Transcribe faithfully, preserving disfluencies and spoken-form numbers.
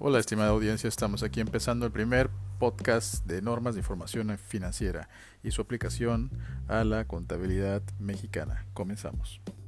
Hola, estimada audiencia, estamos aquí empezando el primer podcast de normas de información financiera y su aplicación a la contabilidad mexicana. Comenzamos.